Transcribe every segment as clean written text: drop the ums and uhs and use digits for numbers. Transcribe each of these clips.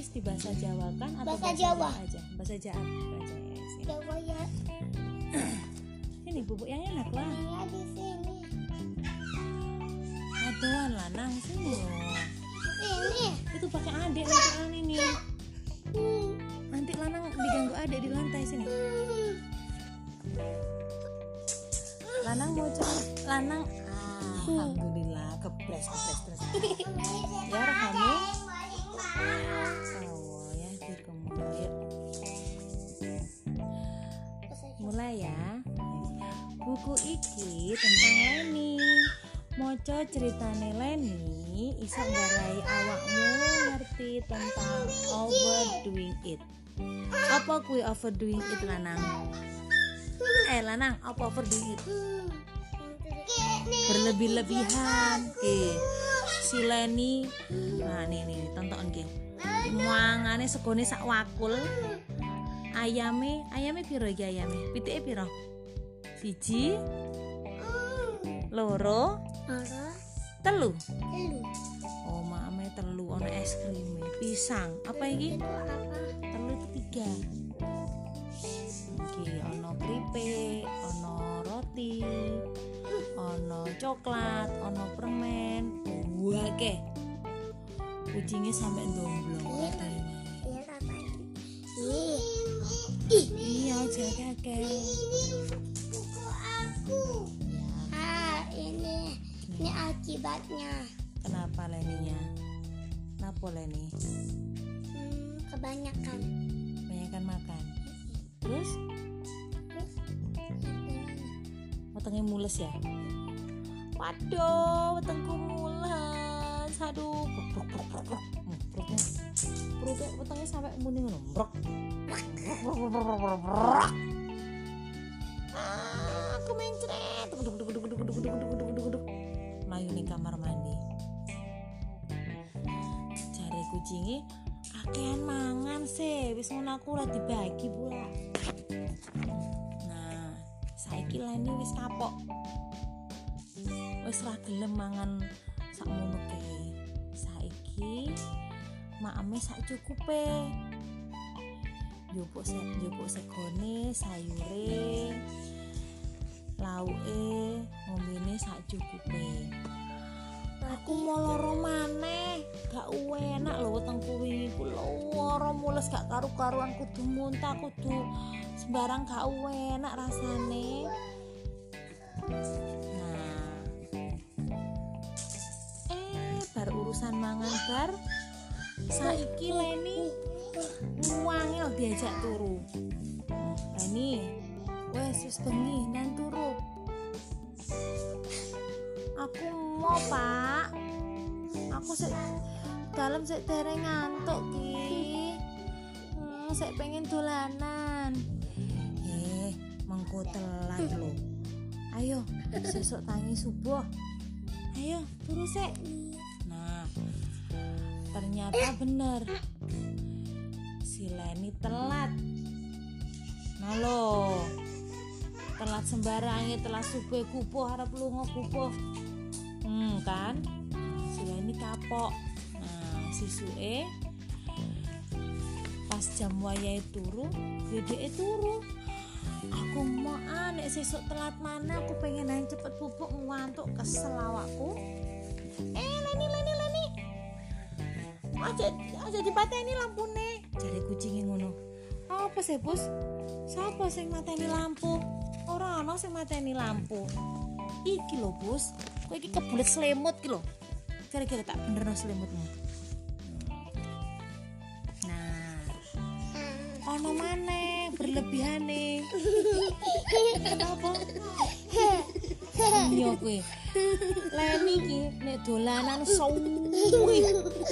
Wis dibahasa Jawakan atau Bahasa Jawa aja? Bahasa Jawa aja ya. Sini. Jawa ya. Sini bubuk yang enak lah. Saya di sini. Aduan lanang sini loh. Ini. Itu pakai adik lanang ini. Nanti lanang diganggu adik di lantai sini. Lanang mau coba lanang. Alhamdulillah kepres terus. Ya kamu. Oh ya dikemudian. Mulai ya. Buku iki tentang Leni. Moco ceritane Leni iso nggarai awakmu ngerti tentang overdoing it. Apa kuwi overdoing it lanang? Lanang, apa overdoing it? Berlebih-lebihan. Si Leni. Nah, nih tonton ki. Mangane segone sak wakul. Ayame piro iki ayame? Pitike piro? 1 loro telu. Oh, mame telu ono es krim, pisang. Apa iki? Telu itu 3. Iki ono keripik, ono roti, ono coklat, ono permen. Wah, ke. Kucingnya sampai domblong. Iya, jaga ke. Ini akibatnya. Kenapa Leninya? Kenapa Leni? Kebanyakan Makan. Terus? Wetenge mules ya? Waduh, wetengku mules. Aduh, perutnya wetenge sampai muni ngono. Aku mencret. Melayu ning kamar mandi. Jare kucinge kakean mangan sih, wis ngono aku ora dibagi pula. Nah, saiki Leni wis kapok. Wis ra gelem mangan sakmono kae. Saiki makame sak cukupe. Njupuk segone, sayure, lauke, ngombene sak cukupe. Aku mau loro maneh, gak enak lho wetengku wingi ku loro mules gak karu-karuan, kudu muntah, kudu sembarang gak enak rasane. Nah. Bar urusan mangan bar saiki Leni wangel diajak turu. Leni, wis bengi nang turu. Aku mau Pak. Aku dalam dereng ngantuk ki. Sik pengen dolanan. Mengko telat lho. Ayo, sesuk tangi subuh. Ayo, turu sik. Nah, ternyata bener. Si Leni telat. Nah lo, telat sembarangnya, telat subuh kupuh harap lunga kupuh. Kan si Leni kapok. Nah sisuke pas jam wayahe turu ya dhek turu. Aku mau nek sesuk telat mana, aku pengen ae cepet bubuk ngantuk, kesel awakku. Leni aja dipateni lampune, jare kucinge ngono. Apa sih Bos? Sapa sing mateni lampu? Ora ana sing mateni lampu. Iki lho Bos, kowe iki kebulet selimut ki lho. Kira-kira tak benerno selimutmu. Nah, ono maneh berlebihane. Kenapa? Iya kowe. Leni iki nek dolanan suwi.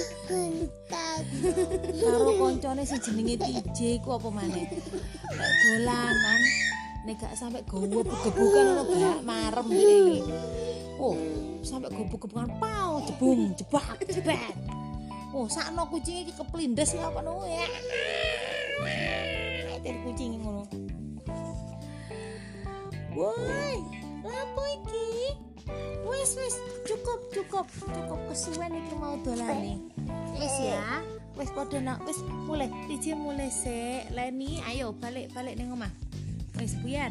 Karo koncone sing jenenge TJ ku apa maneh. Nek dolanan nek gak sampe gowo begebukan ono gak marem iki. Oh, sampe gowo-gowokan pau jebung jebak. Oh, sakno kucing iki keplindes ya apa no ya. Ter kucing ngono. Woi, lapo iki? Wis cukup kesuwen iki mau dolane. Wis ya. Wis padha nak, wis mulai. DJ mulai sik. Leni, ayo balik ning omah. Wis buyar.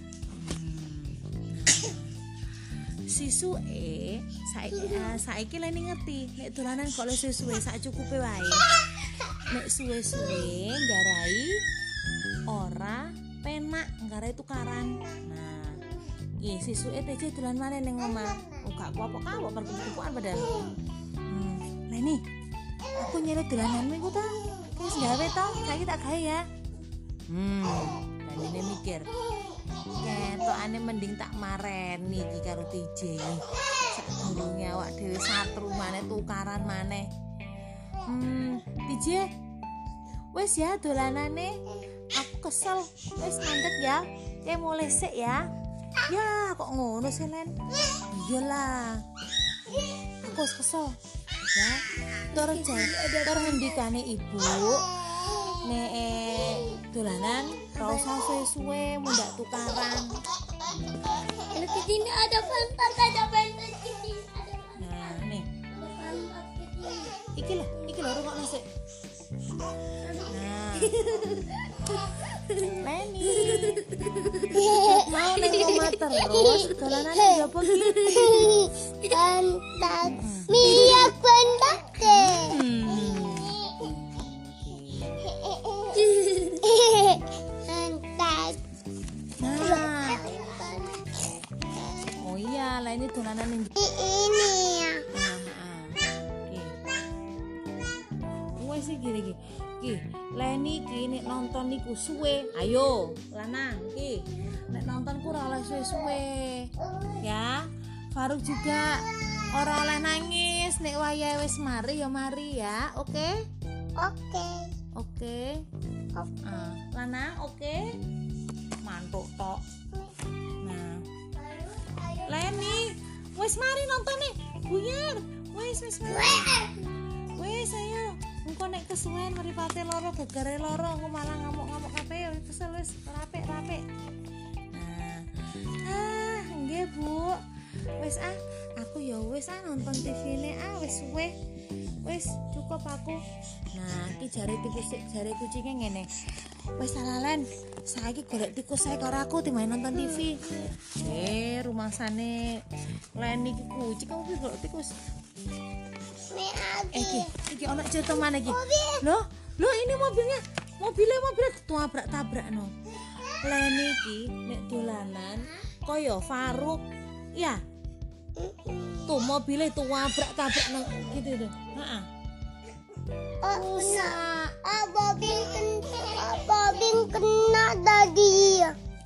Sisuke saiki Leni ngerti nek dolanan kok le suwe sak cukupe wae. Nek suwe-suwe nggarai ora penak nggarai tukaran. Nah, iki sisuke TJ dolan maneh ning omah. Gak apa-apa perkupukan padahal. Leni, aku nyelot dolananmu iku ta. Wis gawe to, saiki tak gawe ya. Leni mikir. Ketokane mending tak mareni iki karo TJ. Sadurunge awak dhewe satru maneh tukaran maneh. TJ. Wis ya dolanane. Aku kesel. Wis mandek ya. Kayak mulai sik ya. Ya, kok ngono sih, Len? Iyalah. Aku kesel. Ya. Tur ngendikane ibu. Nek dolanan ora usah suwe-suwe mundak tukaran. Di sini ada pantat di sini ada pantat. Nah, nih. Pantat di sini. Iki lho rungokno sik. Nah. Leni. Mau ning omah terus dolanan njaba ki. Pantat. Minyak pantat. Pantat. Nah. Oh iya, Leni dolanan ning Ini ya. Wes iki iki. Ki, Leni iki nek nonton niku suwe. Ayo, lanang iki. Nek nonton ku ora oleh suwe-suwe. Ya. Faruk juga ora oleh nangis nek wayahe wis mari ya mari ya. Oke? Oke. Oke. Lanang oke. Mantuk tok. Nah. Leni, wis mari nonton nih. Buyar. Wis mari. Wis ayo. Engko nek kesuwen mripate loro gegere loro engko malah ngamuk-ngamuk kabeh kesel wis rapik. Nah. Nggih, Bu. Wis aku ya wis nonton TV-ne wis suwe. Wis cukup aku. Nah, iki jare kucinge ngene. Wis Lalen, saiki golek tikus sae karo aku timbang nonton TV. Rumangsane Leni iki kucing kamu iki golek tikus. Iki ana cerita mana iki? Loh, ini mobilnya tabrak no. Leni iki nek dolanan kaya Faruk. Ya. Tuh mobilnya itu tabrak nang gitu tuh. Heeh. Rusak. Bobin kena tadi.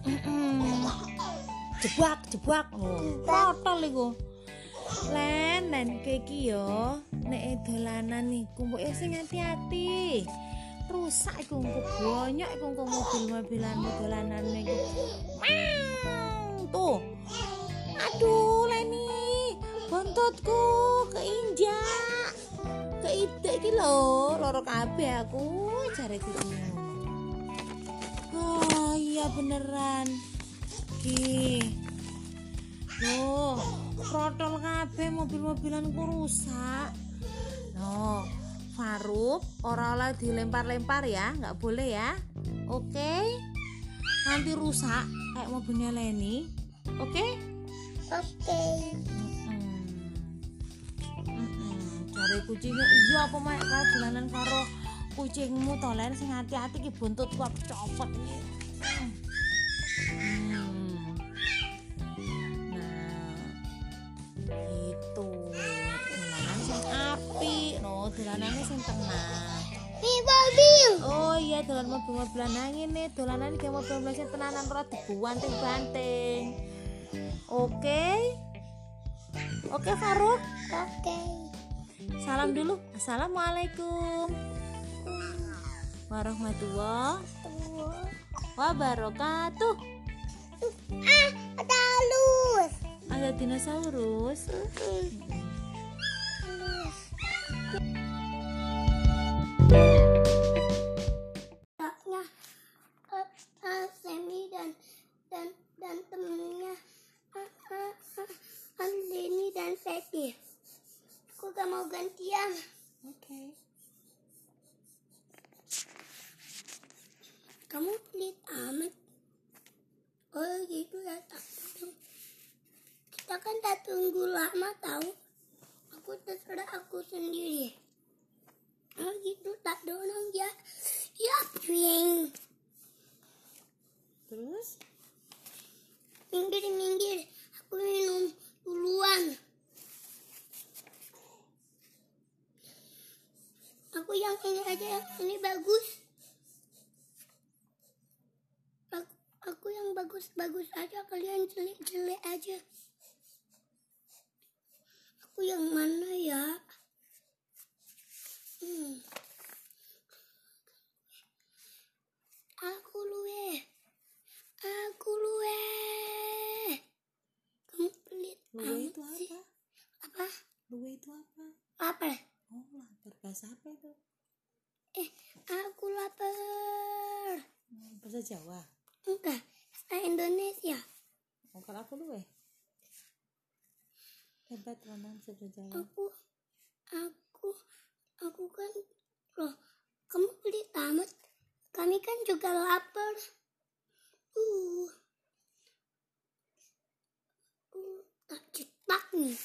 Jebak. Kotor iku. Len iki yo nek dolanan niku mbok sing hati-hati. Rusak iku banyak iku mobil-mobilan dolanan niku. Tuh. Aduh Leni, bontotku keinjak. Keidek iki lho, loro kabeh aku jareku. Oh iya beneran. Ki. Loh, protol kabeh mobil-mobilanku rusak. No, Faruk ora oleh dilempar-lempar ya, nggak boleh ya. Oke? Nanti rusak kayak mobilnya Leni. Oke? Oke. Jare kucingnya iya apa mek dolanan karo kucingmu to Len sing hati-hati ki buntutku aku copot iki. Dolanane sing tenang. Mobil. Oh iya dolan mobil-mobilan nang ngene, dolanan iki mobil-mobil sing tenanan ora dibanting-banting. Oke? Oke Faruk? Oke. Salam dulu. Assalamualaikum warahmatullahi wabarakatuh. Ada halus. Ada dinosaurus. Semi dan temennya Leni dan Seti. Aku gak mau gantian. Oke. Kamu pelit amat. Oh gitu ya, tak dong. Kita kan tak tunggu lama tahu. Aku terserah aku sendiri. Oh gitu, tak dorong ya. Ya ping. Terus? Minggir. Aku minum duluan. Aku yang ini aja, yang ini bagus. Aku yang bagus-bagus aja, kalian jelek-jelek aja. Aku yang mana ya? Aku luwe. Kamu pelit Luwe itu amat sih. apa? Apa? Luwe itu apa? Lapar. Oh, lapar. Bahasa apa itu? Aku lapar. Bahasa Jawa. Enggak, bahasa Indonesia. Oh, kalau aku luwe. Hebat teman sudah Jawa. Aku kan loh, kamu pelit amat. Kami kan juga lapar. Tak cetak nih.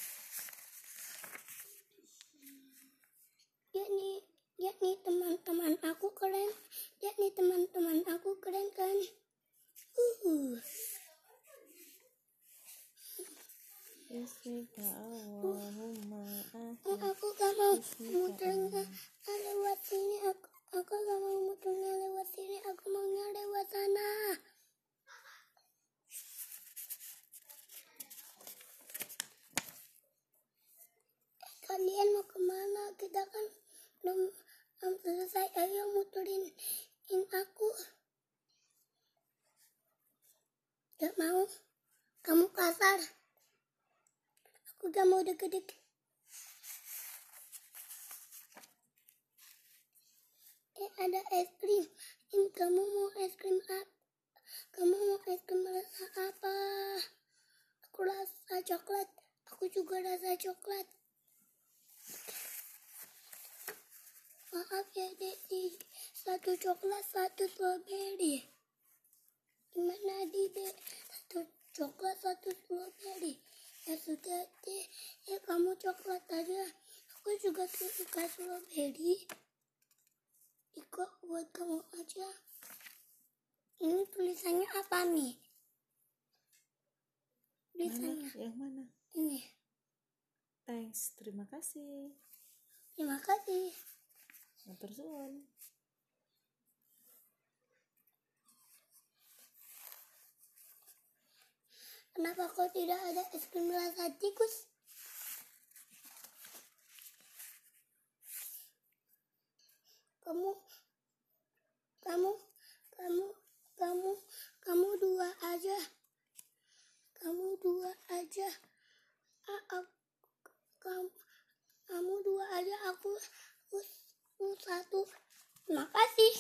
Yakni teman-teman aku keren. Kan. Bismika Allahumma Aku gak mau muternya lewat sini. Aku gak mau muternya lewat sini. Aku maunya lewat sana. Kalian mau kemana? Kita kan belum selesai. Ayo muterin aku. Gak mau. Kamu kasar. Aku gak mau deket-deket. Ada es krim. Kamu mau es krim apa? Kamu mau es krim rasa apa? Aku rasa coklat. Aku juga rasa coklat. Maaf ya dek, satu coklat, satu strawberry. Gimana dek? Satu coklat, satu strawberry. Ya sudah deh, ya kamu coklat aja. Aku juga suka strawberry. Ikut buat kamu aja. Ini tulisannya apa nih? Tulisannya yang mana? ini. Thanks, terima kasih. Terima kasih. Matur suwun. Kenapa kok tidak ada es krim rasa tikus? Kamu dua aja. Kamu dua aja. Kamu dua aja. Aku satu. Terima kasih.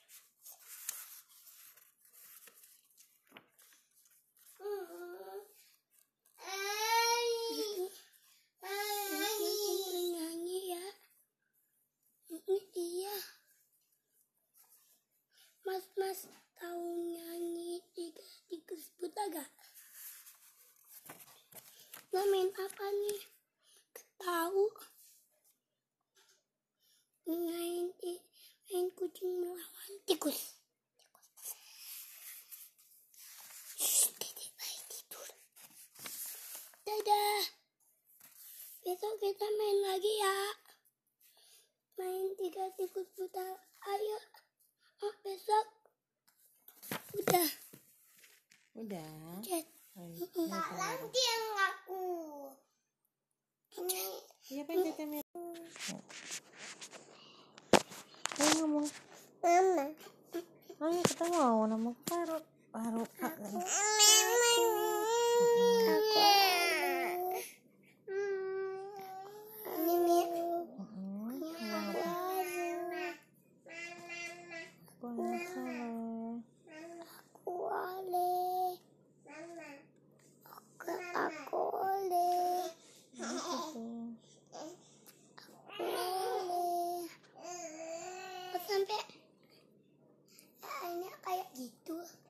Nyanyi ya. Iya. Mas tahu nyanyi tikus buta gak? Lo main apa nih? Tahu? Main kucing melawan tikus. Dedek baik tidur. Dadah. Besok kita main lagi ya. Main 3 tikus buta. Ayo. Besok. Udah. Chat. Lagi yang aku. Iya pencetnya. Ayo ngomong. Mama. Ayo kita mau nama baru. Sampai ini kayak gitu.